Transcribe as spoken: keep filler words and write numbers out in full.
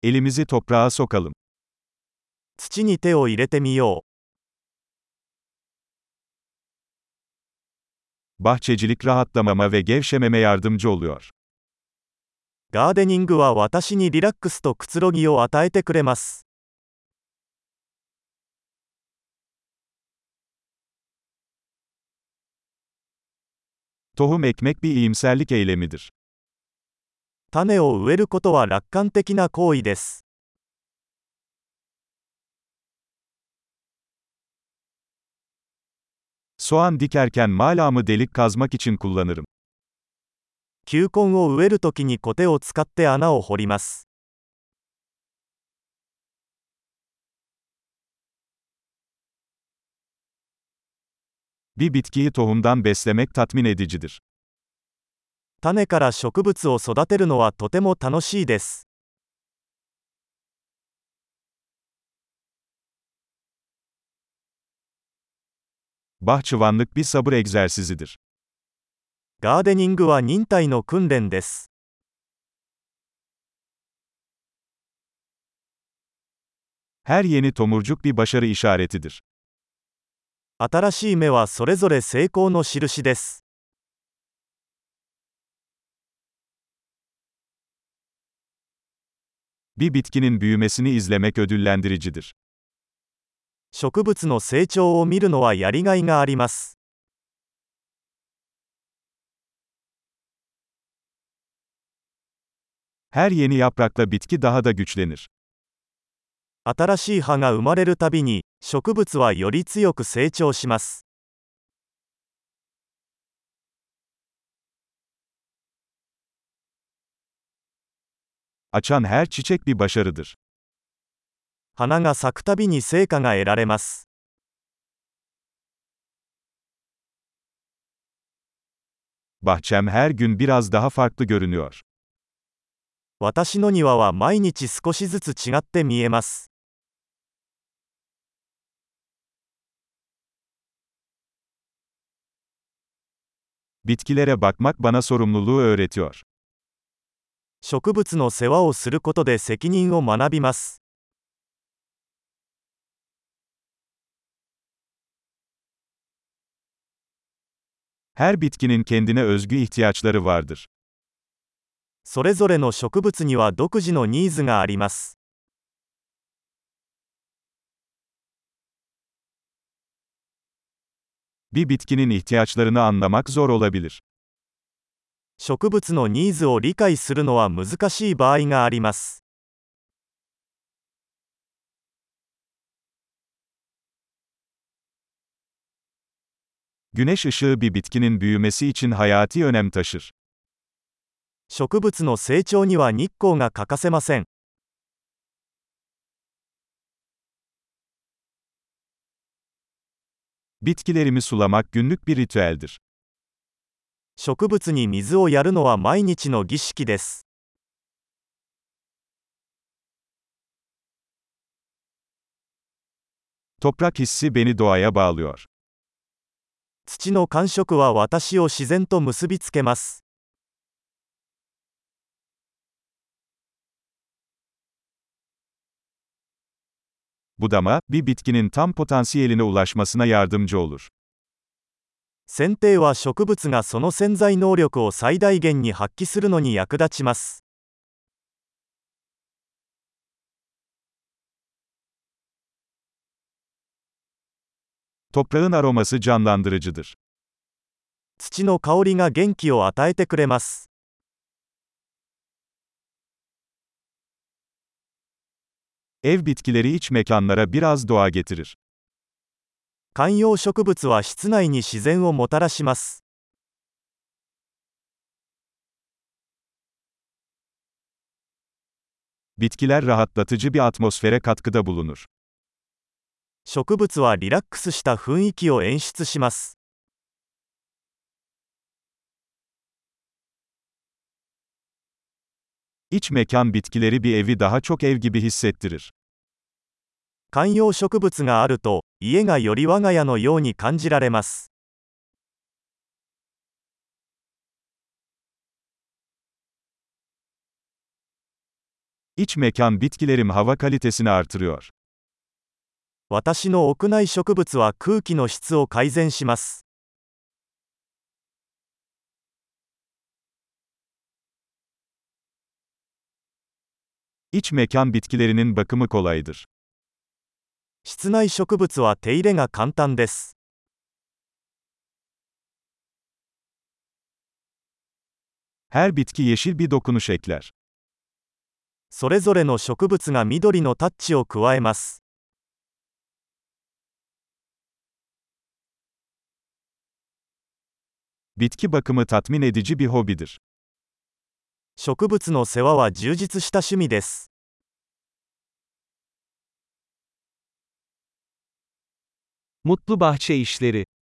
Elimizi toprağa sokalım. 土に手を入れてみよ Bahçecilik rahatlamama ve gevşememe yardımcı oluyor. う。ガーデニングは私にリラックスとくつろぎを与えてくれます。 Tohum ekmek bir iyimserlik eylemidir. 種を植えることは楽観的な行為です。 Soğan dikerken malamı delik kazmak için kullanırım. 球根を植えるときにコテを使って穴を掘ります。 Bir bitkiyi tohumdan beslemek tatmin edicidir. 種から植物を育てるのはとても楽しいです。 Bahçıvanlık bir sabır egzersizidir. ガーデニングは忍耐の訓練です。 Her yeni tomurcuk bir başarı işaretidir. 新しい芽はそれぞれ成功の印です。 Bir bitkinin büyümesini izlemek ödüllendiricidir. 植物の成長を見るのはやりがいがあります。 Her yeni yaprakla bitki daha da güçlenir. 新しい葉が生まれるたびに、植物はより強く成長します。 Açan her çiçek bir başarıdır. 花が咲くたびに成果が得られます。 Bahçem her gün biraz daha farklı görünüyor. 私の庭は毎日少しずつ違って見えます。 Bitkilere bakmak bana sorumluluğu öğretiyor. 植物の世話をすることで責任を学びます。 Her bitkinin kendine özgü ihtiyaçları vardır. それぞれの植物には独自のニーズがあります。 Bir bitkinin ihtiyaçlarını anlamak zor olabilir. 植物のニーズを理解するのは難しい場合があります。 Güneş ışığı bir bitkinin büyümesi için hayati önem taşır. 植物の成長には日光が欠かせません。 Bitkilerimi sulamak günlük bir ritüeldir. 植物に水をやるのは毎日の儀式です。 Toprak hissi beni doğaya bağlıyor. 土の感触は私を自然と結びつけます。 Budama, bir bitkinin tam potansiyeline ulaşmasına yardımcı olur. 剪定は植物がその潜在能力を最大限に発揮するのに役立ちます。 Toprağın aroması canlandırıcıdır. 土の香りが元気を与えてくれます。 Ev bitkileri iç mekanlara biraz doğa getirir. 観葉植物は室内に自然をもたらします。 Bitkiler rahatlatıcı bir atmosfere katkıda bulunur. 植物はリラックスした雰囲気を演出します。 İç mekan bitkileri bir evi daha çok ev gibi hissettirir. 観葉植物があると、家がより我が家のように感じられます。 İç mekan bitkilerim hava kalitesini artırıyor. 私の屋内植物は空気の質を改善します。 İç mekan bitkilerinin bakımı kolaydır. 室内植物は手入れが簡単です。 Her bitki yeşil bir dokunuş ekler. それぞれの植物が緑のタッチを加えます。 Bitki bakımı tatmin edici bir hobidir. 植物の世話は充実した趣味です。 Mutlu bahçe işleri